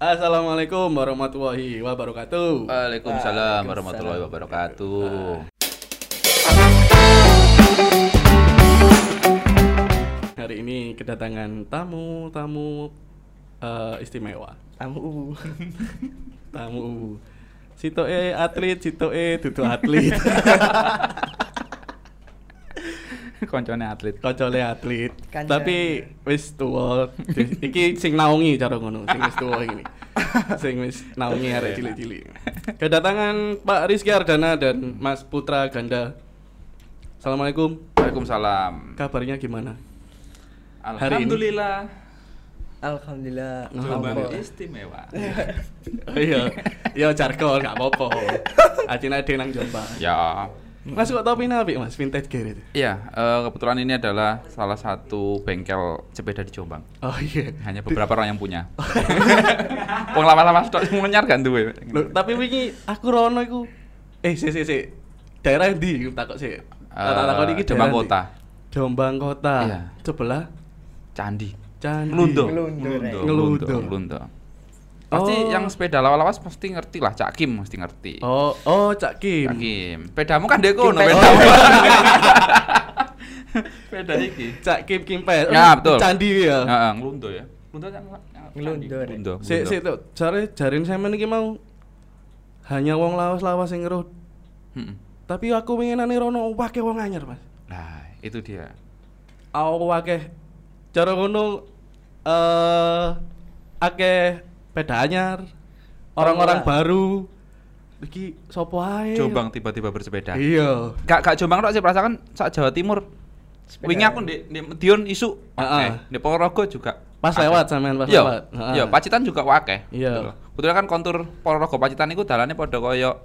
Assalamualaikum warahmatullahi wabarakatuh. Waalaikumsalam warahmatullahi wabarakatuh. Hari ini kedatangan tamu istimewa. Tamu. Sitoke atlet, sitoke dudu atlet. Koncone atlet. Koncone atlet. Kancane. Tapi wis tuwa. Iki sing naungi cara ngono, sing wis tuwa iki. Sing wis naungi arek cilik-cilik. Kedatangan Pak Rizky Ardana dan Mas Putra Ganda. Assalamualaikum. Waalaikumsalam. Kabarnya gimana? Alhamdulillah. Alhamdulillah. Jombang istimewa. Iya. Ya jargon enggak apa-apa. Acine ade nang Jombang. Ya. Mas kok topine apik Mas, vintage gear itu. Iya, kebetulan ini adalah salah satu bengkel sepeda di Jombang. Oh iya. Hanya beberapa orang yang punya. Wong lawas-lawas tok sing menyar kan duwe. Loh, tapi wingi aku rono iku sik. Daerah ndi takok sik. Takok iki Jombang daerah Kota. ndi? Jombang Kota. Iya. Sebelah Candi. Ngelundo. Ngelundo. Pasti yang sepeda lawas-lawas pasti ngerti lah, Cak Kim mesti ngerti. Oh, Cak Kim. Cak Kim. Pedamu kan dek kono Kim pedamu. Sepeda iki. Cak Kim Pes. Ya, betul. Candi ya. Heeh, ngelundo ya. Ngelundo. Sik tuh, jarin sampean iki mau hanya wong lawas-lawas sing ngeruh. Heeh. Tapi aku pengenane rono akeh wong anyar, Mas. Nah, itu dia. Aku akeh cara ngono akeh peda anyar. Orang-orang baru. Iki sopo ae? Jombang tiba-tiba bersepeda. Iya. Gak Jombang tok sih perasaan sak Jawa Timur. Sepeda. Wingi aku di Medion isu. Heeh. Di Ponorogo juga. Pas akeh. lewat sampean pas Iya, lewat. Heeh. iya, Pacitan juga akeh. Iya. Kebetulan kan kontur Ponorogo Pacitan iku dalane padha kaya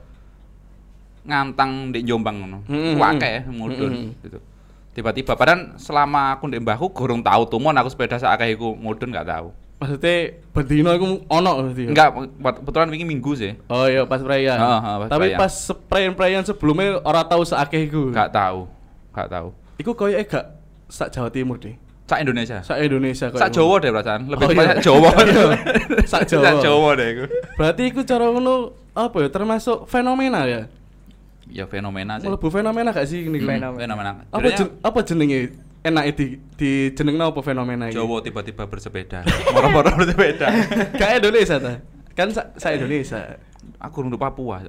ngantang di Jombang ngono. Ku akeh mudhun gitu. Tiba-tiba padahal selama aku ndek mbahku gorong tahu tumon aku sepeda sak akeh iku mudhun gak tahu. Maksudnya bendino iku ono berarti. Ya? Enggak, kebetulan wingi Minggu sih. Oh iya pas perayaan. Heeh, pas Tapi perayaan. pas sprayan sebelumnya ora tahu seakeh iku. Gak tahu. Iku koyoke gak sak Jawa Timur deh. Sak Indonesia. Sak Indonesia koyo. Sak Jawa deh perasaan. Lebih Oh, iya. banyak Jawa. Iya. Sak Jawa. Sak Jawa deh iku. Berarti iku cara ngono apa ya termasuk fenomena ya? Ya fenomena sih. Mlebu fenomena gak sih ini? Fenomena. Apa jenenge? Enake di jenengna apa fenomena iki? Jawa tiba-tiba bersepeda. Moro-moro bersepeda. Gak Indonesia ta? Kan sak Indonesia. Aku rundu Papua.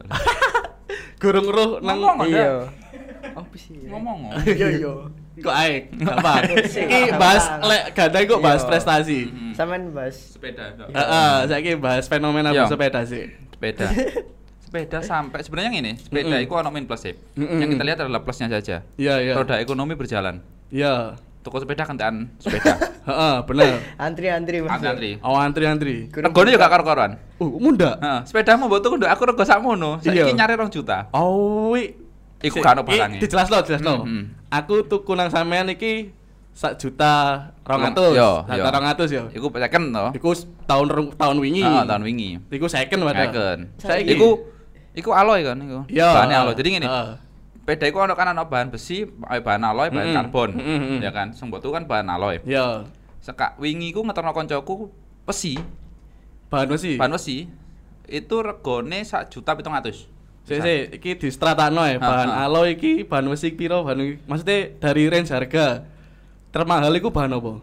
Gurung roh nang Ngomong, Iya. Apa sih? Ngomong. Iya. kok ae. Apa? Iki bahas lek gandeng kok bahas prestasi. Sampean bahas Sepeda. Heeh, saiki bahas fenomena Iya. bersepeda sih. Sepeda sampai sebenarnya gini, sepeda itu ono min plus sih. Mm-mm. Yang kita lihat adalah plusnya saja. Iya. Roda ekonomi berjalan. Iya. Toko sepeda kentekan sepeda. Heeh, bener. antri Mas. Antri. Oh, antri. Regone juga karo-karoan. Munda. Heeh, sepedamu mbok tuku nduk aku rego sakmono. Saiki Iya. nyari 2 juta. Oh, Iku gak ono barange. Dijelasno. Mm-mm. Aku tuku nang sampean iki 1.200.000. Yo. 1.200.000 yo. Iku second to. Iku tahun wingi. Heeh, tahun wingi. Iku second padahal. Second. Saiki Iku alloy kan iku. Iya. Bahannya alloy. Jadi ngene. Heeh. Sepeda iku ono kan ono bahan besi, bahan alloy, bahan karbon. Ya kan, sing mbok tuku kan bahan alloy. Iya. Sekak wingi ku ngeterno koncoku besi, Bahan besi. bahan besi. Itu regone 1.700.000. Sik, iki di stratakno ya, bahan alloy iki, bahan besi piro, maksudnya dari range harga termahal iku bahan apa?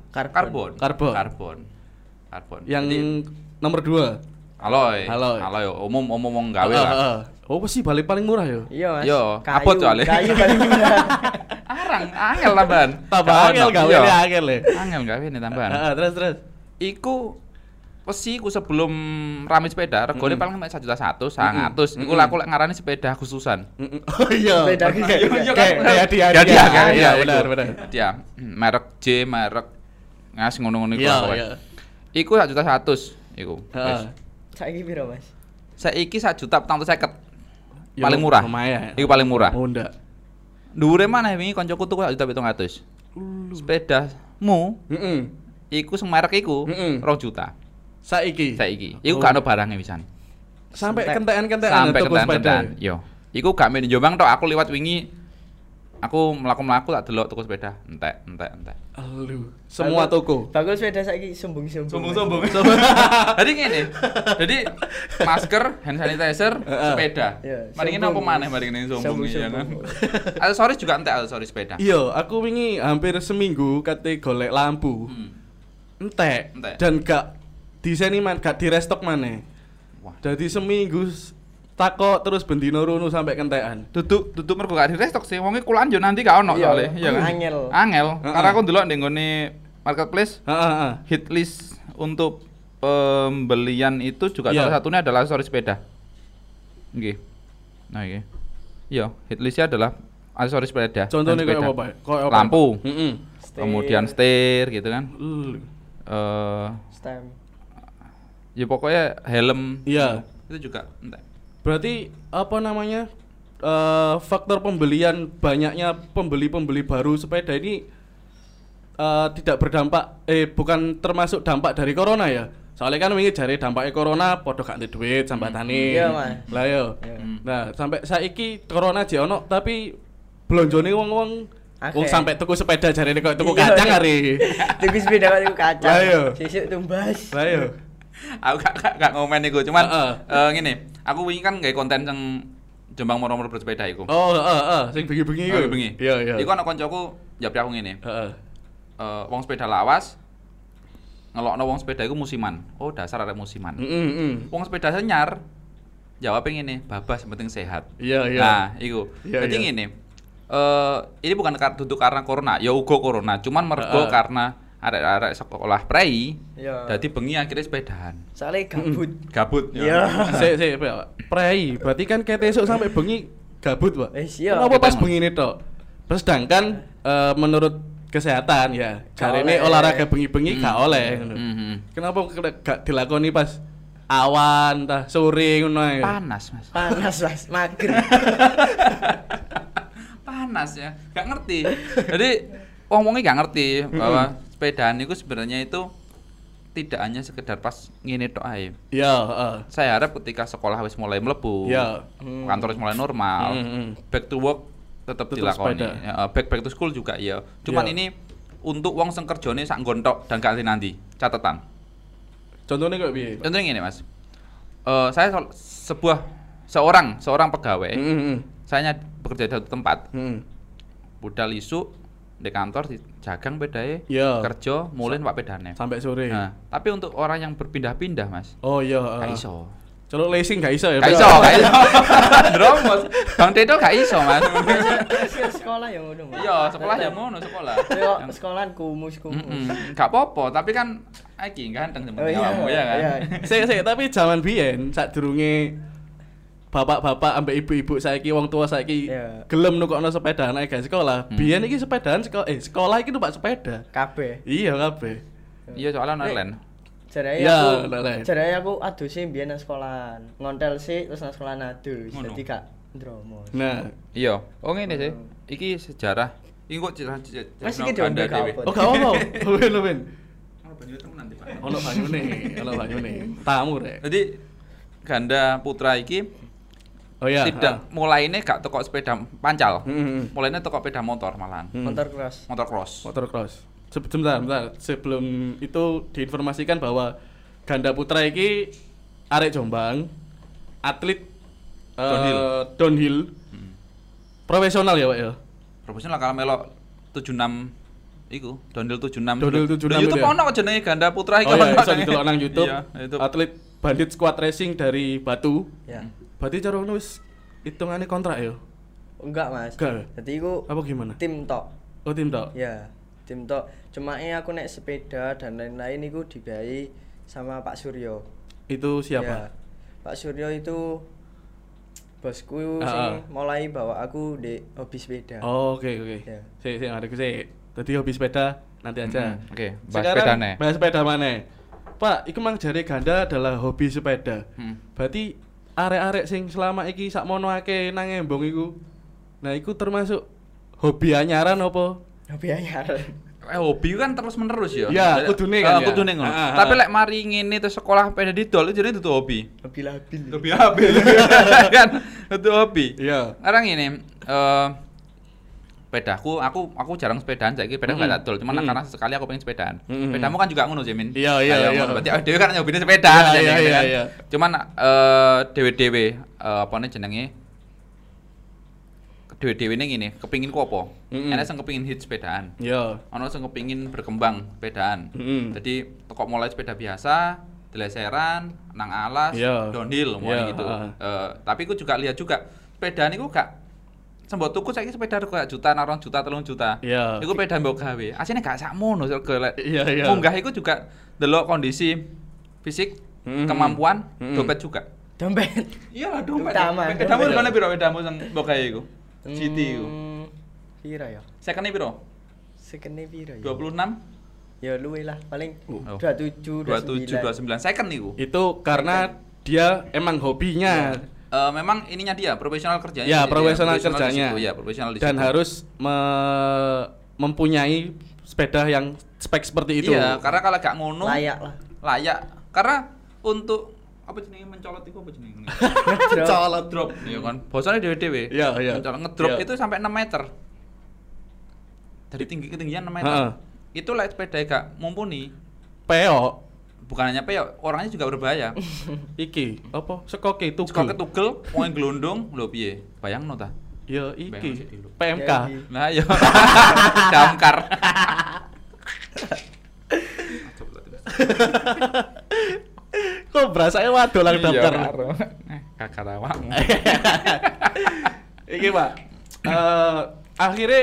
Karbon. Yang Jadi, nomor 2. alloy. Alloy. Umum wong gawe lah. Oh, besi balik paling murah yo. Iya, Mas. Yo, Kayu- abot soalnya. Kayu paling murah. Arang, angel tambahan. Tambah angel gawe Iya. angel le. Angel gawe nih tambahan. Heeh, terus. Iku besi ku sebelum rame sepeda regone paling 1.100.000, 100. Iku Mm-mm. aku lek ngarani sepeda khususan. Oh iya. Sepeda Oke. kayak- Iya, Kayak kan? dia. Kan? Iya, Iku. benar. Dia merek J, merek ngas ngono-ngono iku. Iya, pokoknya. iya. Iku 1.100.000 iku. Heeh. Saiki piro, Mas? Saiki 1.450.000. Ya, Paling murah. Lumayan. Iku paling murah. Oh, ndak. Dhuwure maneh wingi kancaku tuku 1.700.000. Sepedamu Heeh. iku sing merek iku Mm-mm. 2 juta. Saiki. Iku gak ono barangnya pisan. Sampai Entek. kentekan-kentekan Sampai tuku sepeda. kentekan. Yo. Iku gak main di Jombang tok, aku liwat wingi aku mlaku-mlaku tak delok tuku sepeda, entek. Aduh, semua toko. Bagul sepeda saiki sombong-sombong. Jadi ngene. Jadi masker, hand sanitizer, sepeda. Iya, Mari ngene apa sombong. maneh mari ngene sombong ya kan. Sombong. Aksesoris juga entek aksesoris sepeda. Iya, aku wingi hampir seminggu kate golek lampu. Entek. Dan gak diseni gak direstok maneh. Wah. Jadi seminggu takok terus bendino runu sampai kentekan. Duduk mergo gak di-restock sih. Wonge kulaan yo nanti gak ono Iya, soalnya, iya kan. Angel. Karena aku ndelok ning nggone marketplace Heeh. hit list untuk pembelian itu juga Iya. salah satunya adalah aksesoris sepeda. Nggih. Nah, iki. Iya, hit listnya adalah aksesoris sepeda. dan Contohnya kayak sepeda. apa, Pak? Kayak apa? Lampu. Heeh. Kemudian setir gitu kan. Stem. Ya pokoknya helm. Iya. Itu juga entek. Berarti apa namanya? Faktor pembelian banyaknya pembeli baru sepeda ini tidak berdampak bukan termasuk dampak dari corona ya. Soalnya kan wingi jare dampaknya corona padha gak ndek duit sambatane. Iya, Mas. Lah yo. Nah, sampai saiki corona aja ono tapi blonjone wong-wong wong sampai tuku sepeda jarene kok tuku kacang hari. Tuku sepeda kok tuku kacang. Lah iya. Sesuk tumbas. Lah yo. Aku gak ngomen iku, cuman ngene, aku wingi kan gawe konten yang Jombang moro-moro bersepeda iku. Oh, sing bengi-bengi iku. Bengi. Iya. Iku ana koncoku njawab aku ngene. Heeh. Wong sepeda lawas ngelokno wong sepeda iku musiman. Oh, dasar arek musiman. Wong sepeda senyar jawabnya ngene, babas yang penting sehat. Iya. Nah, iku. Iya, Jadi iya. ngene. Ini bukan duduk karena corona, ya uga corona, cuman mergo karena arek-arek sekolah prei. Iya. Dadi bengi akhirnya sepedahan. Soalnya gabut. Gabut. Iya. Sik, Pak. Prei, berarti kan ket esuk sampai bengi gabut, Pak. Iya. Kenapa pas Ketemu. bengi tok? Sedangkan menurut kesehatan ya, jarene oleh. olahraga bengi-bengi gak oleh ngono. Kenapa gak dilakoni pas awan tah sore ngono ae? Panas, Mas. Panas, Mas. Mager. Panas ya. Gak ngerti. Jadi wong-wonge gak ngerti bahwa sepedaan itu sebenarnya itu tidak hanya sekedar pas ngene tok ae. Iya, heeh. Saya harap ketika sekolah wis mulai mlebu, Iya. kantor wis mulai normal, back to work tetap Tetep dilakoni. sepeda. Ya, back to school juga ya. Cuman Iya. ini untuk wong sing kerjane sak nggontok dan gak nanti. Catatan. Contohnya kayak piye? Pak? Contohnya gini, Mas. Saya seorang pegawai. Saya bekerja di satu tempat. Budal isu di kantor dijagang bedae, Iya. kerja mulai pak pedane. Sampai sore. Nah, tapi untuk orang yang berpindah-pindah, Mas, Oh iya, gak iso. Celuk leasing gak iso ya? Gak Pak? iso. Dromos. Bang Tedo gak iso, Mas. Sekolah ya ngono, Mas. Iya, sekolah ya ngono, sekolah. Yo, sekolahan kumus-kumus. Gak apa-apa, tapi kan iki ganteng Oh sebenarnya iya, kamu ya kan. iya. Sik, tapi zaman biyen sadurunge bapak-bapak ambek ibu-ibu saiki wong tua saiki Iya. gelem nukokno sepeda naik gak sekolah. Biyen iki sepedaan sekolah iki numpak sepeda. Kabeh. Iya kabeh. Iya, soalnya online. Jarane Iya, aku, lek. jarane aku adu sih biyen nang sekolahan. Ngontel sih terus nang sekolahan adus. Ngono. Dadi gak ndromos. Nah, Iya. Oh ngene sih. Iki sejarah. Iki kok Mas iki diombe dewe. kapot. oh gak apa. Luwin. Oh, banyu temen nanti, Pak. Ono banyune. Tamu rek. Jadi ganda putra iki Oh iya. tidak mulainya gak toko sepeda pancal. Heeh. Mulainya toko sepeda motor malahan. Motor cross. Motor cross. Motor cross. Sebentar. Sebelum itu diinformasikan bahwa ganda putra iki arek Jombang, atlet downhill. Profesional ya, Pak ya. Profesional kalau melok 76 iku, downhill 76. Downhill 76 Di YouTube itu ya? ono jenenge ganda putra iki. Oh iya, ono bisa jenenge. didelok nang YouTube. Iya, YouTube. Atlet Bandit Squad Racing dari Batu. Ya. Berarti cara ngono wis hitungane kontrak ya. Enggak, Mas. Enggak. Dadi iku Apa gimana? tim tok. Oh, tim tok. Ya, tim tok. Cuma aku naik sepeda dan lain-lain itu dibiayai sama Pak Suryo. Itu Ya, siapa? Pak Suryo itu bosku Ah, sing ah. mulai bawa aku di hobi sepeda. Oh, oke. Ya. Sik ngarep sik. Tadi hobi sepeda nanti aja. Oke, bahas Sekarang sepedane. bahas sepeda mana? Pak, iku mang jare ganda adalah hobi sepeda. Berarti arek-arek sing selama iki sakmono akeh nang embong iku. Nah, iku termasuk hobi anyaran apa? Hobi anyar. Hobi kan terus menerus ya. Ya, kudune kan ya. Kudune ngono. Ah, ah, Tapi ah. lek mari ngene terus sekolah sepeda didol itu jadi itu hobi. Hobi labil. Hobi habil. Kan itu hobi. Iya. Sekarang ini sepedaku, aku jarang sepedaan, saiki sepeda enggak adol, cuman karena sekali aku pengen sepedaan. Sepedamu kan juga ngono, Jemin. Iya. Berarti dhewe kan nyobine sepedaan Iya. Cuman dhewe-dhewe apane jenenge? Dhewe-dhewe ning ngene, kepengin ku apa? Enek sing kepengin hit sepedaan. Iya. Ana sing kepengin berkembang sepedaan. Jadi kok mulai sepeda biasa, deleseran, nang alas, downhill mulai gitu. Tapi ku juga lihat juga sepedaan iku gak sembok tuku saiki sepeda rego juta, 2 juta, 3 juta. Iya. Iku sepeda mbok gawe. Asline gak sakmono golek. Iya. Munggah iku juga delok kondisi fisik, kemampuan, dompet juga. Dompet. Iya lah dompet. Utama. Pedamu regane piro pedamu sing mbok gawe iku? GT iku. Piro ya? Second-e piro? Second-e piro ya? 26. Ya luwe lah, paling Oh. 27, 29 second iku. Itu karena dia emang hobinya. Memang ininya dia profesional kerjanya. Ya, profesional di kerjanya. situ, ya, profesional di Dan situ. harus mempunyai sepeda yang spek seperti itu. Iya, karena kalau gak ngono layak lah. layak. Karena untuk apa jenenge mencolot itu apa jenenge? Colot Drop, iya kan. Bosone dhewe-dhewe. Iya. Mencolot ngedrop Iya. itu sampai 6 meter. Dari ketinggian 6 meter. Heeh. Itu like sepeda gak mumpuni. Peok Bukan hanya peyok, orangnya juga berbahaya. iki apa sekoke Kok tugel. ketugel, wong glondong, lho piye? Bayangno ta? Ya Bayang iki sik dulu. PMK. Jadi, Nah, yo. Damkar. Kok berasanya waduh lang daftar. Kakak awak. Iki Pak. Akhirnya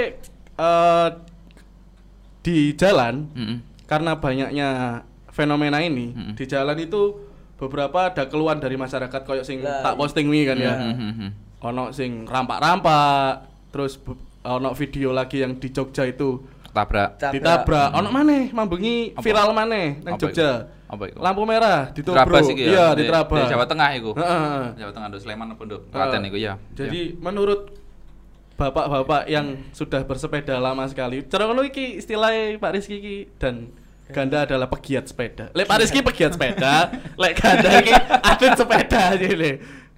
di jalan karena banyaknya fenomena ini di jalan itu beberapa ada keluhan dari masyarakat koyo sing Lah, tak posting wi kan ya. Ono sing rampak-rampak, terus ono video lagi yang di Jogja itu Tabrak. ditabrak. Ono maneh mambengi Apa? viral maneh nang Apa Jogja. Apa iku? Lampu merah ditubruk. Terabas iki ya. Iya, Di diterabas. Jawa Tengah iku. Heeh. Jawa Tengah Nduk Sleman apa Nduk? Klaten iku ya. Jadi menurut bapak-bapak yang sudah bersepeda lama sekali, cara ngono iki istilahnya Pak Rizky iki dan Ganda adalah pegiat sepeda. Lek Pak Rizky pegiat sepeda, lek Ganda iki atlet sepeda jadi.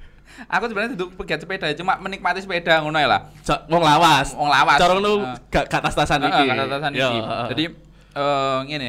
Aku sebenarnya duduk pegiat sepeda, cuma menikmati sepeda ngono ya lah. Wong lawas. Wong lawas. Cara ngono gak tas-tasan iki. Gak tas-tasan Ya, iki. heeh. Jadi ngene.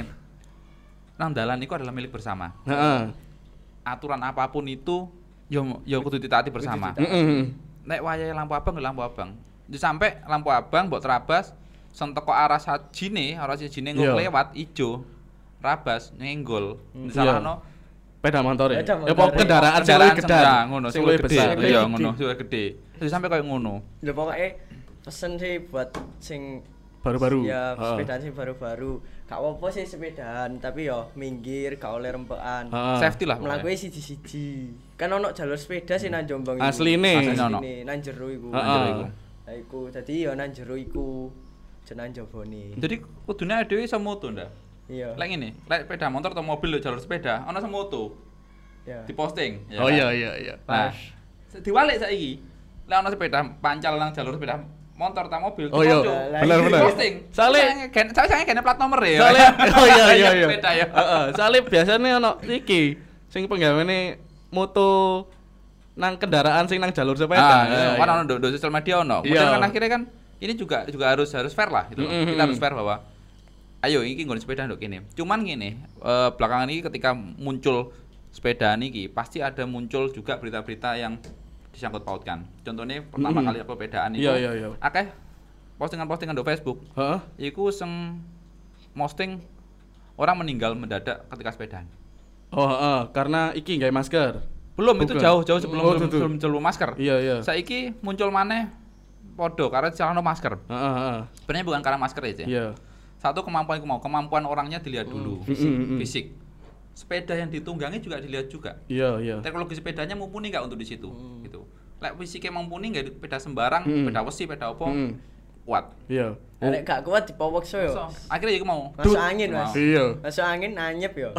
Nang dalan iku adalah milik bersama. Heeh. Aturan apapun itu yo kudu ditaati bersama. Heeh. Nek wayahe lampu abang nggak lampu abang. Jadi sampai lampu abang mbok terabas sing teko arah sajine Iya. lewat ijo. Rabas nyenggol. Iya. Disalahno Sepeda motor ya. Sepeda Ya apa motor. kendaraan sing luwih gedhe. ya, ngono Sing luwih besar. gede. Iya Gede. ngono, sing luwih gede. Jadi sampai koyo ngono. Ya pokoknya pesen sih buat sing Baru-baru. ya Heeh. sepedaan sing baru-baru. Gak apa-apa sih sepedaan, tapi yo minggir gak oleh rempekan. Heeh. Safety lah. Mlakuke siji-siji. Kan ono jalur sepeda sih nang Jombang iku. Asline. Asline ono. Nang jero iku. Heeh. Nang jero iku. Lah iku dadi yo nang jero iku. Jeneng jabone. Jadi kudune dhewe iso moto ndak? Iya. Lek ngene, lek sepeda motor atau mobil lho jalur sepeda, ana semoto. Ya. Diposting, ya Oh kan? iya. Nah, diwalik saiki. Lek ana sepeda pancal nang jalur sepeda motor ta mobil, Oh iya. dipojo. Bener. Posting. Soale Saya gene plat nomor ya. Soale oh iya. Sepeda ya. Heeh, soale biasane ono iki sing penggaweane moto nang kendaraan sing nang jalur sepeda. Kan ono do sosial media ono. Iya. Kemudian kan akhirnya kan ini juga harus fair lah gitu. loh. Kita harus fair bahwa ayo iki nggon sepeda nduk kene. Cuman ngene, belakangan ini ketika muncul sepedaan iki pasti ada muncul juga berita-berita yang disangkut pautkan. Contohnya pertama kali aku sepedaan itu Iya. akeh postingan-postingan di Facebook. Heeh. Iku sing posting orang meninggal mendadak ketika sepedaan. Oh, heeh, karena iki gawe masker. Belum itu Bukan. jauh sebelum Oh, tuh. sebelum masker. Iya. Saiki muncul maneh podo karena celana masker. Heeh. Sebenarnya bukan karena masker ya. Iya. Satu kemampuan orangnya dilihat dulu, Mm. fisik. Sepeda yang ditunggangi juga dilihat juga. Iya. Teknologi sepedanya mumpuni nggak untuk di situ, gitu. Lek fisiknya mumpuni nggak sepeda sembarang, sepeda besi, sepeda opo, kuat. Iya. Nek gak kuat dipowokso yo. So, akhirnya aku mau Masuk angin, Mas. Iya. Masuk angin anyep yo.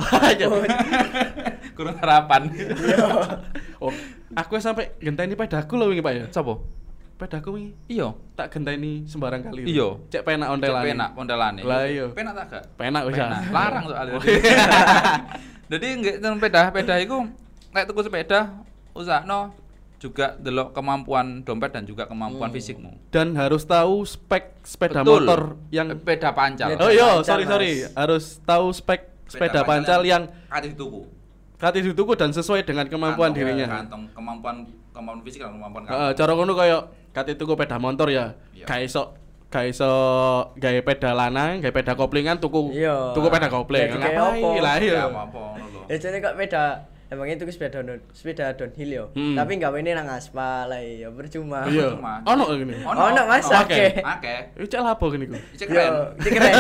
kurang harapan. Oh, aku sampai genteni pedaku lho wingi Pak ya. Sopo? Pedaku wingi Iya. tak genteni sembarang kali. Iya. Cek penak ontelane. Penak pondelane. Lah iya. Penak tak gak? Penak wis. Penak. Larang soalnya. Jadi nggak sepeda iku nek tuku sepeda usahno juga delok kemampuan dompet dan juga kemampuan fisikmu. Dan harus tahu spek sepeda Betul. motor yang Sepeda pancal. Sepeda Oh iya, pancal, sorry. Mas. Harus tahu spek sepeda pancal yang kate dituku. kate dituku dan sesuai dengan kemampuan Kantong, dirinya. Kantong kemampuan fisik dan kemampuan Heeh, cara ngono kaya kate tuku sepeda motor ya. Iya. Gak iso gawe peda lanang, gawe peda koplingan tuku Iya. tuku peda kopling. Jadi kayak Ngapain apa? lah Ya ya. apa ngono lho. Ya jadi kok beda. Emangnya itu sepeda downhill yo. Tapi enggak ini nang aspal lah ya percuma. Iya. Cuma. Ono ngene. Ono, Mas, akeh. Akeh. Iki cek lapo ngene iku. Cek keren. Yo, keren.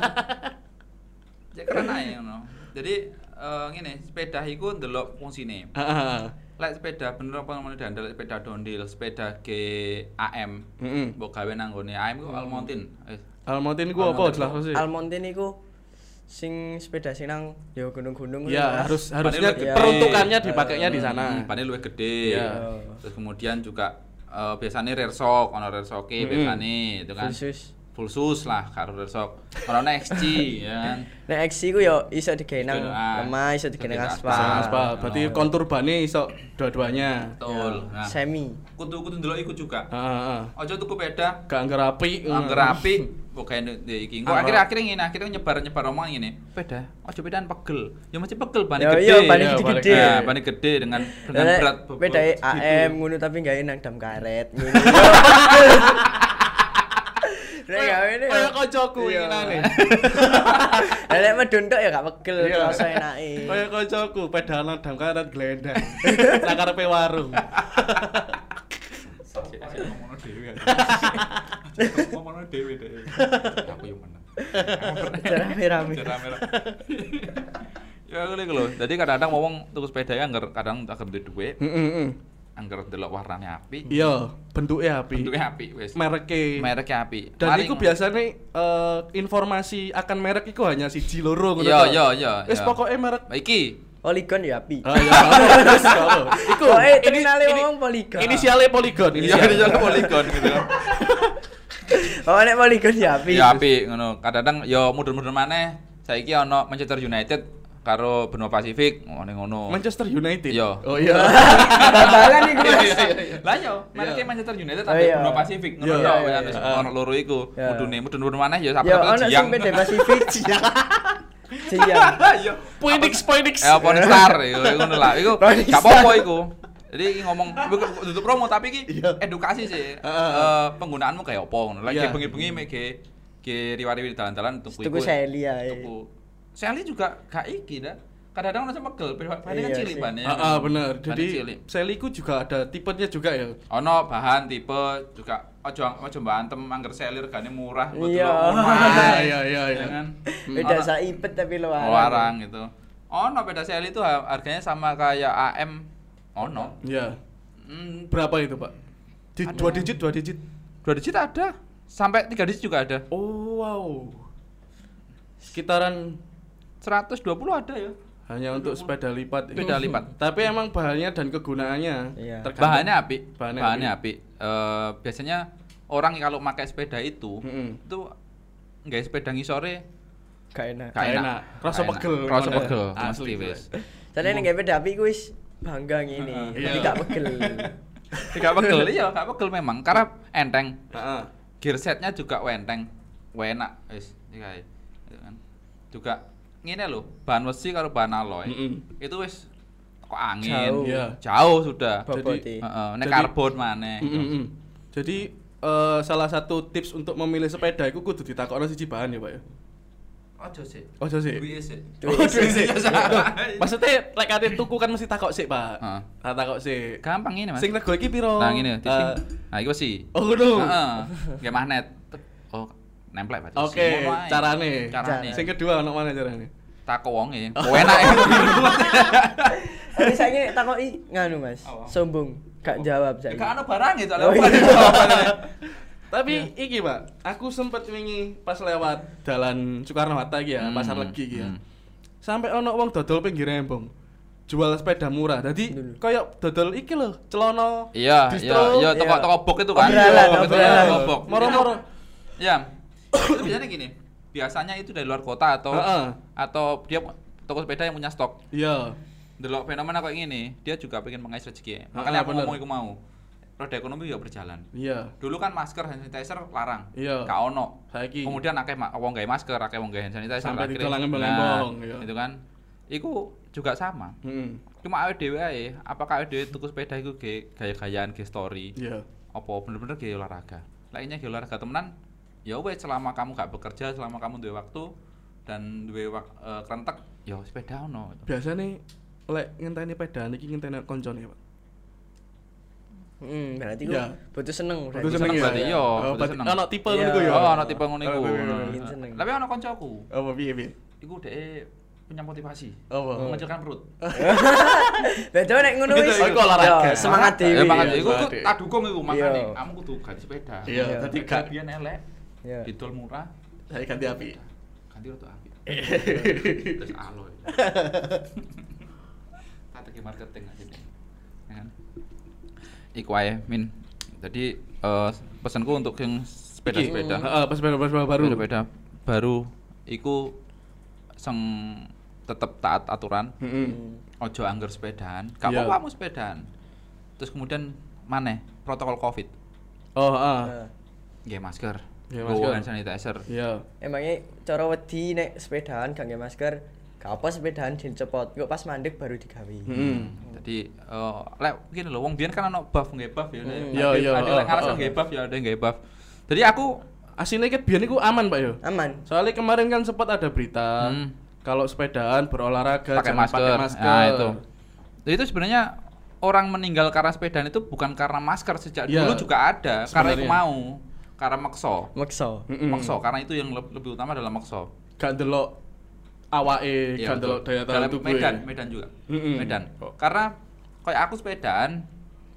Cek keren ae ngono. Jadi ngene, sepeda iku ndelok fungsine. Heeh. Lek sepeda bener apa namanya dandel sepeda downhill, sepeda GAM. Heeh. Mbok gawe nang gone AM iku Almontin. Almontin ku apa jelas sih? Almontin iku sing sepeda sing nang yo gunung-gunung Ya, Mas. harusnya Padahal lebih peruntukannya gede. dipakainya di sana. Pane luwih gede. Iya. Terus kemudian juga biasanya rear shock, ono rear shock-e biasane itu kan. Full sus lah karo rear shock. Ono XG ya kan. Nek XC ku yo iso digawe nang Ah, lemah, iso digawe nang digawe aspal. Aspal. Berarti kontur bane iso dua-duanya. Betul. Nah, Semi. kudu ndelok iku juga. Heeh. Ojo tuku sepeda Gak angger api. angger api kok kayak iki. Engko akhirnya nyebar omong ngene. Sepeda, ojo sepedaan pegel. Ya mesti pegel ban Yo gede. yo ban Iya, gede. Nah, ban gede dengan berat Sepeda AM ngono tapi gawe nang dam karet ngono. Nek gawe ne. Kayak kancaku Iya. ngene. Nek medun tok ya gak pegel, Iya. rasa enake. Kayak kancaku pedalan dam karet glendang. Nang karepe warung. ngomongno dhewe. Ngomongno dhewe deh. Aku yo menang. Rame-rame. Merah-merah. Ya ngene iku lho. Dadi kadang-kadang wong tuku sepeda ya angger kadang agak duwe dhuwit, Heeh. angger delok warnane apik, Iya, bentuknya api. bentuke apik wis. Mereknya. apik. Dan itu biasanya informasi akan merek itu hanya siji loro ngono. Iya. Wis pokoke merek. Iki Polygon ya api. Ah ya. Wis ngono. Iku terminale wong Polygon. inisialnya Polygon. iya jalan poligon gitu kan. Oh nek Polygon ya api. Ya apik ngono. Kadang-kadang ya mudun-mudun maneh. Saiki ana Manchester United karo Benua Pasifik ngono. Manchester United. Iya. Oh iya. Babalan iku. Lah yo, mereknya Manchester United Oh, ada iya. Benua Pasifik ngono Iya, yo iya, wis iya. ono loro iku. Iya. Mudun maneh ya Ya sampe ono jiang. sing beda Pasifik. Jiang. Iya. Phoenix. Pon Star iku ngono lah. Iku Phoenix gak apa-apa iku. Jadi iki ngomong tutup promo tapi iki Iya. edukasi sih. Penggunaanmu kayak apa ngono. Lagi Iya. bengi-bengi mek ge riwari-riwari dalan-dalan tuku Tuku Sally ae. Tuku. Sally juga gak iki dah. Kadang-kadang ono pegel, pane kan Iya cilik sih. bane. Bener. Bane Jadi cilik. Seliku juga ada tipenya juga ya. Ono bahan tipe juga ojo mbantem angger seli regane murah buat Iya. lo omah. Iya. Ya kan? Beda Ono- saipet tapi luaran. Larang gitu. Ono beda seli itu harganya sama kayak AM. Ono. Iya. Hmm, Berapa itu, Pak? Ada. 2 digit. 2 digit ada. Sampai 3 digit juga ada. Oh, wow. Sekitaran 120 ada ya. hanya untuk sepeda lipat. Sepeda lipat. Tapi emang bahannya dan kegunaannya Iya. tergantung. Bahannya apik. Bahannya Bahannya apik. Biasanya orang kalau pakai sepeda itu nggak sepeda ngisore Gak enak. Gak enak. Rasa Gak enak. pegel. Rasa Mana? pegel. Asli, Mesti Bro. wis. Soalnya nek beda api ku wis bangga ngene. Iya. Jadi gak pegel. Gak pegel, iya gak pegel memang karena enteng. Heeh. Gear setnya juga enteng. Enak wis iki kae. Gitu kan. Juga ngene lho, bahan besi karo bahan alloy. Itu wis kok angin. Jauh. Iya. Jauh sudah. Bobote. Heeh, nek Jadi- karbon maneh. Jadi salah satu tips untuk memilih sepeda itu kudu ditakokno siji bahan ya, Pak ya. Ojo sih. Ojo sih. Duwe sih. Oh, duwe sih. Maksudnya lek kate tuku kan mesti takok sik, Pak. Heeh. Takok sik. Gampang ini, Mas. Sing rego iki piro? Nah, ngene, tiping. Eh, Nah, iki sih. Oh, ngono. Heeh. Nggih magnet. Oh, nemplek berarti. Oke, Ngono ae. carane. Carane. Sing kedua ono mana carane? Takok wonge. Enak ya. Tapi saiki takoki nganu Mas. Apa? Sombong. Gak jawab saiki. Gak ono barang itu, Oh, apa iya. jawabannya. Tapi iki, Pak, aku sempet wingi pas lewat dalan Soekarno Hatta iki ya, Pasar Legi iki ya. Sampai ono wong dodol pinggir embong. Jual sepeda murah. Dadi koyo dodol iki lho, celana Iya, distro. iya, toko bok itu kan. Obrolan, Toko obrolan. bok. Moro-moro. Ya. Itu biasanya gini. Biasanya itu dari luar kota Heeh. atau dia toko sepeda yang punya stok. Iya. delok fenomena kayak gini, dia juga pengen mengais rezeki. Makanya aku bener. ngomong iku mau. Roda ekonomi juga berjalan. Iya. Dulu kan masker hand sanitizer larang. Iya. Gak ono. Saiki Kemudian akeh wong gawe masker, akeh wong gawe hand sanitizer. Sampai akhirnya- didol ngembang-ngembang, iya. Itu kan. Iku juga sama. Heeh. Cuma awake dhewe ae, apakah awake dhewe tuku sepeda iku ge gaya-gayaan, ge story? Iya. Apa bener-bener ge olahraga? Lainnya ge olahraga temenan, ya wes selama kamu gak bekerja, selama kamu duwe waktu dan duwe krentek, ya sepeda ono. Biasane lek ngenteni pedaan iki ngenteni koncone, Pak. Berarti Iya. ku butuh seneng Butuh seneng ya? berarti, iya, Oh, butuh berarti seneng. ana tipe Iya. ngono iku ya. Oh, ono tipe ngono iku. Oh, iya, iya, iya. Seneng. Tapi ono kancaku, Apa piye? iku dhek punya motivasi. Apa? Mengecilkan perut. Beda nek ngono Gitu, wis. iku olahraga. Ya, semangat Ya dhewe. makanya Iya, iku semangat dhewe. tak dukung iku makane Iya. kamu kudu ganti sepeda. Iya, Iya. dadi gak Biyen elek, Ya. didol murah, saya ganti api. ganti rada apik. Terus aloy. Strategi marketing aja deh. Ya kan? Iku ae, Min. Jadi pesanku untuk yang sepeda-sepeda. Heeh, pas sepeda baru. Sepeda baru iku sing tetep taat aturan. Heeh. Ojo angger sepedaan. Gak Iya. apa-apa kamu sepedaan. Terus kemudian maneh protokol Covid. Oh, heeh. Nah, Nggih masker. Nggih Nggo masker. hand sanitizer. Iya. emangnya cara wedi nek sepedaan gak nge masker, gak apa sepedaan dicepot. Kok pas mandek baru digawe. Heeh. Jadi lek gini lho, wong biyen kan ono buff nggih buff ya. Iya, iya, Ada lek ngaras heeh. nggih buff ya, ada nggih buff. Jadi aku Asine ket biyen iku aman, Pak yo. Aman. Soalnya kemarin kan sempat ada berita kalau sepedaan berolahraga pakai jangan masker. pakai masker. Nah, itu. Jadi itu sebenarnya orang meninggal karena sepedaan itu bukan karena masker sejak Iya. dulu juga ada, karena itu Sebenarnya. mau, karena makso. Maksa. Mm-mm. Makso karena itu yang lebih utama adalah makso. Gak ndelok awake, Iya, gak ndelok betul. daya tahan Dalam tubuh. Medan juga. Mm-mm. Medan. Oh. Karena kayak aku sepedaan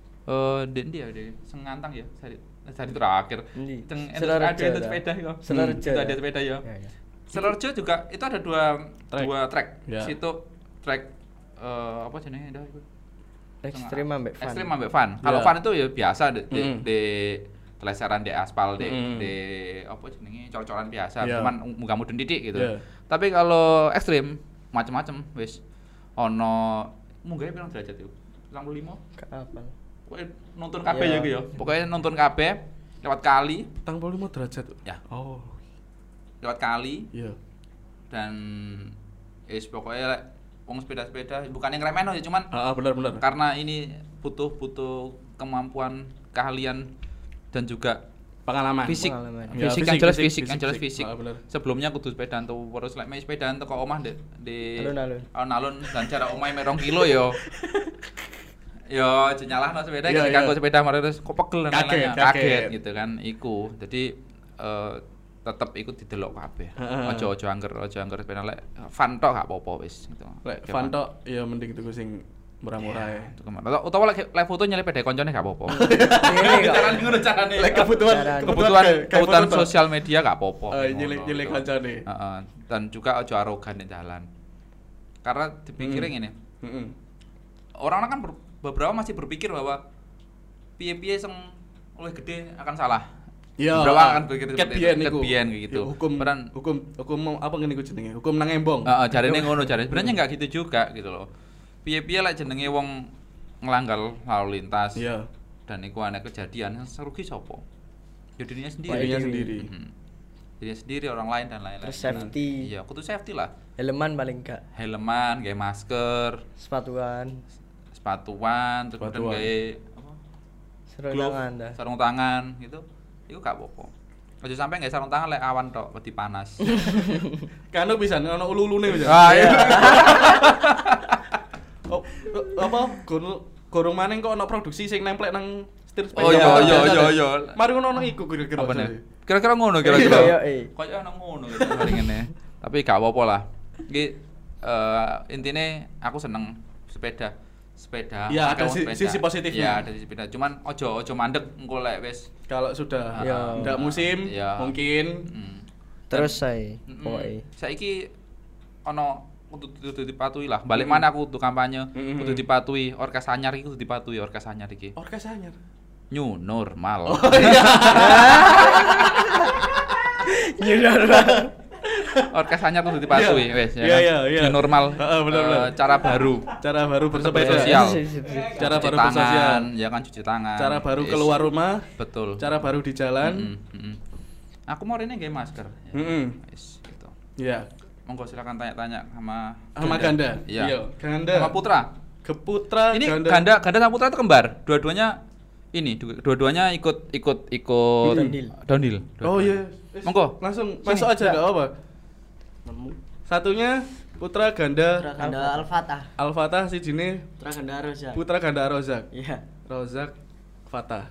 Dendi ya, Sengantang ya, dari terakhir. Endi? Teng Sidoarjo ada dah. sepeda ya. Sidoarjo Itu ya. ada sepeda ya. Ya, ya. Sidoarjo juga itu ada dua track. Ya. Situ track apa jenenge dah itu? Ekstrim ambek fun. Ekstrim ambek fun. Kalau Ya. fun itu ya biasa di Mm. di teleseran di aspal Mm. di apa jenenge cor-coran biasa, Ya. cuman munggah mudun titik gitu. Ya. Tapi kalau ekstrim macam-macam wis ono munggahnya pirang derajat itu? 95. Gak apa. Pokoknya nonton kabeh Iya. ya gitu ya. Pokoknya nonton kabeh lewat kali, 45 derajat. ya, Oh, lewat kali iya. dan pokoknya lek wong sepeda-sepeda bukan yang remeh ya, cuman Ah, benar. karena ini butuh kemampuan, keahlian dan juga Pengalaman. fisik. Pengalaman. Ya, Fisik, yang jelas fisik. Ah, bener. Sebelumnya kudu sepedaan tuh terus lek main sepedaan teko omah di Alun-alun. alun-alun dan jarak omahe mek 2 kilo yo. Yo jenyalahno sepeda Iya, ketika iya. aku sepeda mari terus kok pegel dan Kaget, lain-lainnya. kaget. Kaget gitu kan iku. Jadi tetep ikut didelok kabeh. Heeh. Ojo angger sepeda lek fun tok gak apa-apa wis gitu. Lek Oke, fun tok ya mending tuku sing murah-murah ya. Itu kemana? Utawa lek foto nyelip pede koncone gak apa-apa. Ini kok. Carane ngono carane. Lek kebutuhan Caranya. Kebutuhan foto tok. sosial media gak apa-apa. Nyilih kancane. Heeh. Dan juga ojo arogan di jalan. Karena dipikirin ini, Heeh. orang-orang kan beberapa masih berpikir bahwa piye-piye sing oleh gede akan salah. Iya. Beberapa akan berpikir ket seperti biyen itu, iku. ket biyen kayak gitu. Ya, hukum apa ngene iku jenenge? Hukum nang embong. Heeh, jarine ngono jarine. Sebenarnya enggak gitu juga gitu loh. Piye-piye lek jenenge wong nglanggar lalu lintas Iya. dan iku ana kejadian yang rugi sapa? Ya dirinya sendiri. Dirinya sendiri. Dirinya sendiri, orang lain dan lain-lain. Terus safety. Iya, kudu safety lah. Helman paling gak. Helman, gawe masker, Sepatuan. sepatuan, terus kemudian Sepatuan. gawe apa? Sarung Glove, tangan dah. sarung tangan gitu. Iku gak apa-apa. Aja sampe gawe sarung tangan lek awan tok, wedi panas. Kanu bisa ono ulu-ulune bisa. Ah iya. Oh, apa gorong maning kok ono produksi sing nemplek nang setir sepeda. Oh iya. Mari ngono iku kira-kira. Apa nih? Kira-kira ngono kira-kira. Iya, iya. Kayak ana ngono gitu paling ngene. Tapi gak apa-apa lah. Iki intine aku seneng sepeda. Ya, ada akeh wong sisi positifnya. Ya, ada sisi sepeda. Cuman ojo mandek engko lek wis Kalau sudah Ya. ndak musim Ya. mungkin Terus saya Mm-mm. pokoknya. Saiki ono kudu dipatuhi lah. Balik mana aku kudu kampanye, kudu dipatuhi. Orkes anyar iki kudu dipatuhi orkes anyar iki. orkes anyar. New normal. New normal. orkes anyar kudu dipatuhi wis ya. Iya. New normal. Bener. Cara baru. Cara baru bersepeda. Sosial. Cara Cuci baru tangan, bersosial. ya kan cuci tangan. Cara baru Yes. keluar rumah. Betul. Cara baru di jalan. Aku mau ini nggak masker. Ya. Wis gitu. Iya. Monggo silakan tanya-tanya sama Ganda. Iya. Ganda. Sama Putra. Keputra Ini Ganda. Ganda sama Putra itu kembar. Dua-duanya ikut downhill. Oh iya. Monggo. Langsung masuk aja enggak apa. Satunya Putra Ganda Putra Ganda Al-Fatah. Al-Fatah si jine Putra Ganda Rozak. Putra Ganda Rozak. Iya. Rozak Fatah.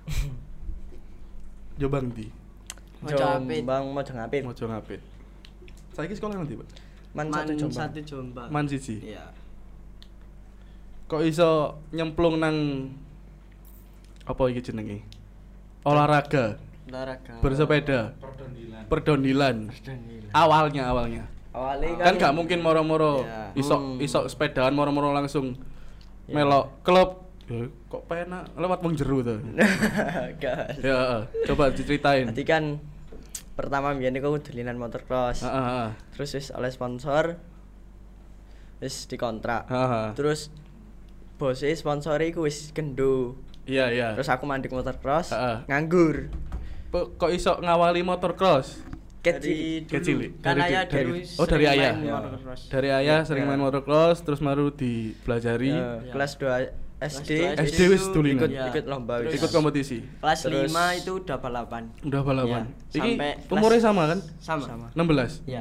Jombang di Jombang Mojongapit. Mojo Ngapit. Saiki sekolah nanti, Pak? Man satu Jombang. Man siji. Iya. Kok iso nyemplung nang apa iki jenenge? Olahraga, bersepeda, perdondilan. Awalnya. Awalnya Kan gak mungkin moro-moro Iya. isok sepedaan moro-moro langsung melok klub. Ya, kok penak lewat wong jero to. Gas. Ya, coba diceritain. Tadi kan pertama mbiyen iku dolinan motocross. Heeh. Terus wis oleh sponsor wis dikontrak. Heeh. Terus bose sponsore iku wis gendho. Iya. Terus aku mandek motocross, Heeh. nganggur. Kok iso ngawali motocross? Kecil. Kan Dari- ayah dari- dulu oh, dari sering ayah. main Ya. motocross. Dari ayah sering main motocross terus baru dipelajari. Kelas 2 SD. SD wis dolinan. ikut lomba wis. Ikut kompetisi. Kelas Terus- 5 itu udah balapan. Udah balapan. Iya, Iki sampai umurnya kelas- sama kan? Sama. 16. Iya.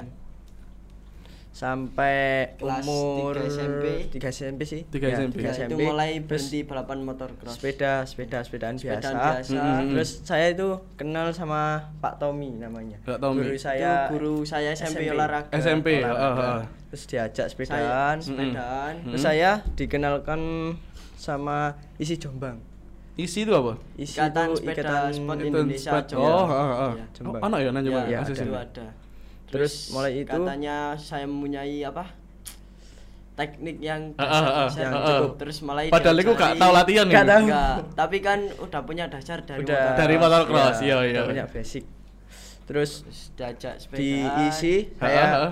Sampai Kelas umur 3 SMP. 3 SMP sih. 3 Ya, SMP. 3 Itu SMP. mulai Terus berhenti balapan motocross. sepedaan Sepedaan biasa. biasa. Terus saya itu kenal sama Pak Tommy namanya. Pak Tommy. Guru Itu saya guru saya SMP SMP. olahraga. SMP. olahraga. Terus diajak sepedaan. Sepedaan. Terus saya dikenalkan sama isi Jombang. Isi itu apa? Isi Ikatan itu Sepeda Sport Itu Indonesia sepeda- Jombang. Oh, heeh. Iya. Jombang. Ono ya nang Jombang. Iya, Masih ada. Itu sini. ada. Terus mulai itu katanya saya mempunyai apa? Teknik yang yang cukup. terus mulai Padahal aku gak tahu latihan Gak ini. tahu. Enggak, tapi kan udah punya dasar dari Udah. motor. Dari motocross, iya. udah punya basic. Terus Terus diajak sepeda. diisi Heeh.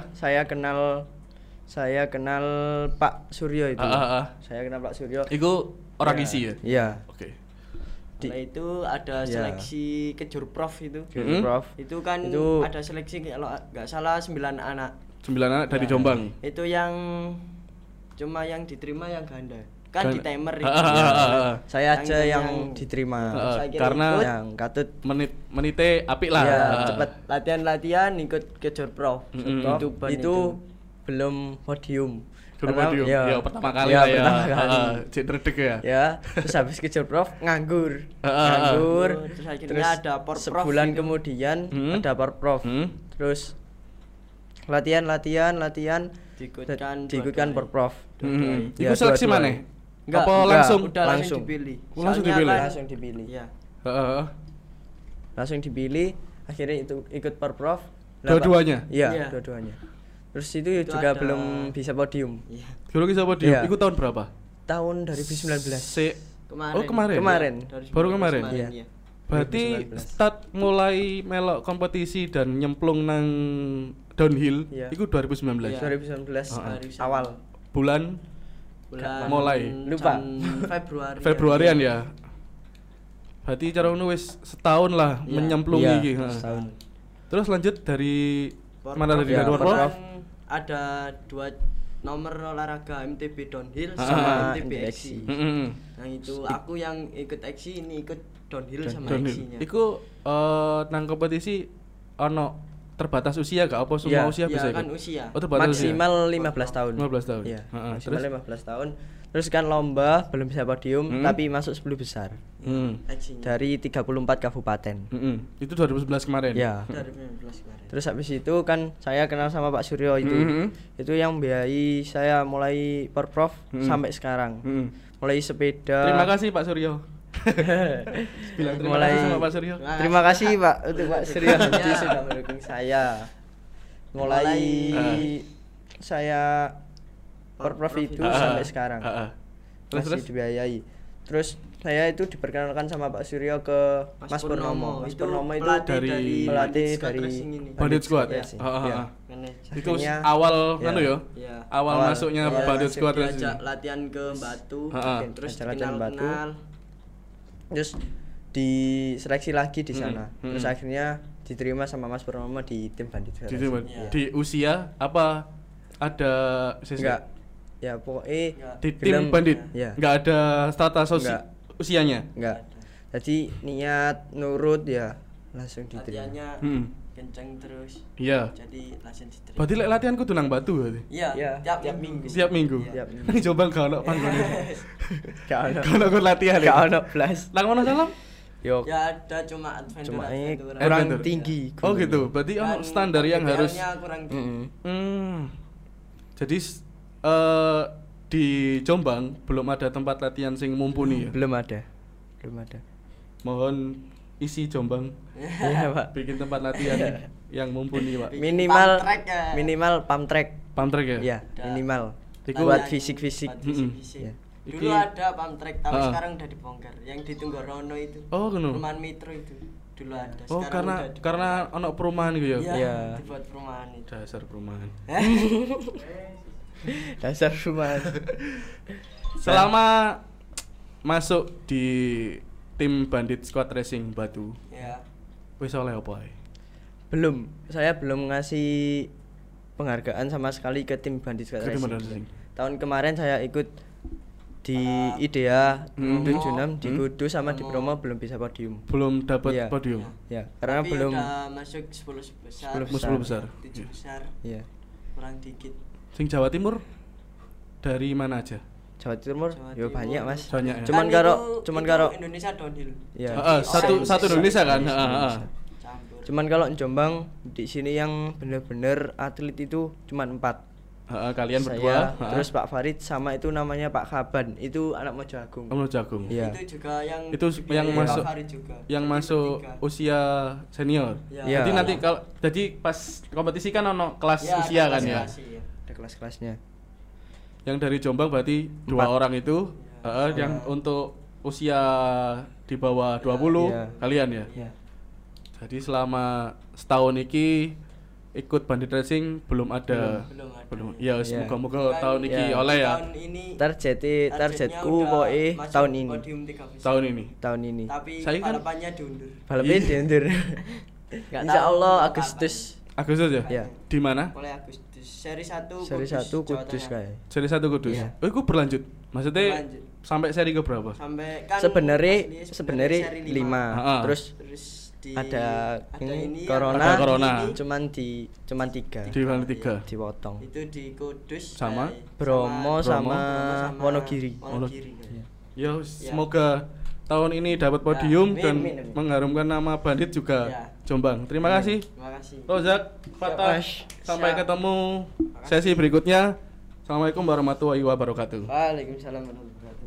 saya kenal Pak Suryo itu. Heeh. Saya kenal Pak Suryo. Iku orang Ya. isi ya? Iya. Oke. Setelah itu ada Ya. seleksi kejur prof itu. Guru Prof. Itu kan Itu- ada seleksi kalau nggak salah 9 anak. 9 anak dari Ya. Jombang. Itu yang cuma yang diterima yang ganda. Kan di timer itu. Heeh. Saya aja Yang- yang yang- diterima. Saya kira Karena ikut. Yang katut menite apik lah. Iya, Heeh. cepet. Latihan-latihan ikut kejur prof. Mm-mm. Itu ban itu belum podium. Guru Karena- podium. Ya, pertama kali ya, lah ya. pertama kali. Heeh. Cek redeg ya. Ya, terus habis kejar prof nganggur. Heeh. Nganggur. Terus akhirnya ada por prof sebulan itu. kemudian Hmm. ada por prof. Hmm. Terus latihan diikutkan por prof. Hmm. Ya, Iku seleksi dua-dua. mana? Enggak, Apa enggak. langsung? Udah langsung Langsung. dipilih. Langsung Soalnya dipilih? kan- Langsung dipilih. Iya. Heeh. Langsung dipilih, akhirnya itu ikut por prof. Lah, Dua-duanya? Pak. Iya, Iya. dua-duanya. Terus itu Itu juga ada- belum bisa podium. Iya. Guru kisah podium. Iya. Iku tahun berapa? Tahun 2019. Kemarin. Oh, kemarin. Kemarin. Dari Baru 19 kemarin? Iya. iya. Berarti 2019. start mulai melok kompetisi dan nyemplung nang downhill Iya. itu 2019. Iya. 2019 Heeh. awal. Bulan Bulan Mulai. Lupa. Februari. Februarian ya. Berarti cara ngono wis setahun lah Iya. menyemplung Iya, iki. Heeh. setahun. Terus lanjut dari Por mana prof tadi? Ya, Dari por Prof? prof. Ada 2 nomor olahraga MTB downhill Ah, sama MTB MTB XC. XC. Heeh. Nah itu aku yang ikut XC, ini ikut downhill sama Downhill. XC-nya. Iku nang kompetisi ono terbatas usia gak apa semua Iya. usia bisa Ya kan ikut? usia. Oh, terbatas Maksimal 15 tahun. 15 tahun. Iya. Heeh. Maksimal Terus? 15 tahun. Terus kan lomba belum bisa podium tapi masuk 10 besar Hmm. XC-nya. dari 34 kabupaten. Itu 2011 kemarin. Ya. Dari 2019 kemarin. Terus habis itu kan saya kenal sama Pak Suryo itu. Mhm. Itu yang biayai saya mulai per prof sampai sekarang. Mm-mm. Mulai sepeda. Terima kasih Pak Suryo. Bilang terima Mulai- kasih sama Pak Suryo. Terima kasih Pak untuk Pak Suryo Hadi sudah mendukung saya. Mulai saya per prof itu Ah, sampai sekarang. ah, ah. Terus Masih terus. dibiayai. Terus saya itu diperkenalkan sama Pak Suryo ke Mas Purnomo. Mas Purnomo itu dari- pelatih Squad dari Racing ini. Bandit Squad. Iya. Heeh. Manajer. Itu Akhirnya- awal ya. anu ya. Iya. Awal masuknya awal Bandit masuk Squad Diajak Racing. latihan ke Batu, Heeh. terus Diajak latihan Batu. kenal. Terus diseleksi lagi di sana. Hmm. Terus akhirnya diterima sama Mas Purnomo di tim Bandit Squad Di, Racing. Iya. di usia apa ada Enggak. Ya pokoknya di tim film- Bandit ya. nggak ada status Enggak. usianya. Enggak. Jadi niat nurut ya langsung diterima. Latihannya Hmm. kenceng terus. Iya. Jadi langsung diterima. Berarti lek latihan kudu nang Batu berarti. Iya, Iya, tiap minggu. Setiap minggu. Tiap minggu. Ini coba gak ono panggone. Gak ono. Gak ono ikut latihan ya. Gak ono blas. Nang mana salam? Yo Ya ada cuma adventure. cuma ini adventure. kurang Adventure. tinggi. Oh gitu. Berarti ono Kan standar yang harus PBL-nya kurang tinggi. Jadi di Jombang belum ada tempat latihan sing mumpuni ya. Belum ada. Belum ada. Mohon isi Jombang Iya, Pak. bikin tempat latihan yang mumpuni, Pak. Minimal Pump track ya. minimal pump track. Pump track ya? Iya, Ada. minimal. Iku- Buat Latihan fisik-fisik. buat fisik-fisik. Iya. Dulu Iki- ada pump track tapi Ah. sekarang udah dibongkar. Yang di Tunggorono itu. Oh, ngono. Perumahan Metro itu. Dulu ada. Oh, sekarang karena udah dibongkar. karena ono perumahan gitu ya. Iya, Iya. dibuat perumahan itu. Dasar perumahan. Dasar rumah. Selama masuk di tim Bandit Squad Racing Batu, Ya. wis oleh apa ae? Belum. Saya belum ngasih penghargaan sama sekali ke tim Bandit Squad Ke tim Racing. Bandit Racing. Tahun kemarin saya ikut di IDEA Hmm. 76 di Hmm. Kudus sama di Bromo belum bisa podium. Belum dapat Iya. podium. Ya, karena Tapi belum udah masuk 10 besar. 10 besar. 7 besar. ya. Kurang dikit. Sing Jawa Timur dari mana aja? Jawa Timur, Jawa yo Timur. banyak, Mas. Banyak ya. Cuman Kan karo itu- cuman itu karo Indonesia downhill. ya. Heeh, satu Oh, satu Indonesia kan? Indonesia. Heeh, heeh. Campur. Cuman kalau Jombang di sini yang bener-bener atlet itu cuman 4. Heeh, kalian Saya, berdua, heeh. terus Pak Farid sama itu namanya Pak Kaban, itu anak Mojo Agung. Kamu jagung. Iya. Itu juga yang Itu dibiayai yang Pak masuk Farid juga. yang Jadi masuk bertiga. usia senior. Ya. Iya. Jadi nanti kalau jadi pas kompetisi kan ono kelas Ya, usia ada kan ya. klasifikasi, ya. Ada kelas-kelasnya. Yang dari Jombang berarti 2 4. orang itu, heeh, yang untuk usia di bawah 20 Iya. kalian ya. Ya. Jadi selama setahun iki ikut Bandit Racing belum ada. Belum ada. Belum. Ya Iya. semoga Kan tahun iki Iya. oleh ya. Tahun ini Targetku targetnya pokoknya udah masuk tahun ini. podium 3 besar. Tahun ini. Tahun ini. Tapi Saya kan- balapannya diundur. Balapnya Iya. diundur. Nggak Insya tahu Allah kapan. Agustus. Agustus ya? Iya. Di mana? Mulai Agustus. Seri 1 Seri 1 Jawa Kudus Tengah. kayak. Seri 1 Kudus. Iya. Oh, itu berlanjut. Maksudnya Berlanjut. sampai seri ke berapa? Sampai kan Sebenarnya aslinya sebenarnya seri 5. Heeh. Terus Terus ada ini corona, Ada corona. cuman 3 Di mana 3? dipotong. itu di Kudus Sama? Bromo sama Wonogiri. Wonogiri. Ya, Ya. semoga tahun ini dapat podium amin, dan amin, amin. mengharumkan nama Bandit juga Ya. Jombang. Terima kasih. Terima kasih. Rozak, Fatah. Mas. Sampai Siap. ketemu sesi berikutnya. Assalamualaikum warahmatullahi wabarakatuh. Waalaikumsalam warahmatullahi wabarakatuh.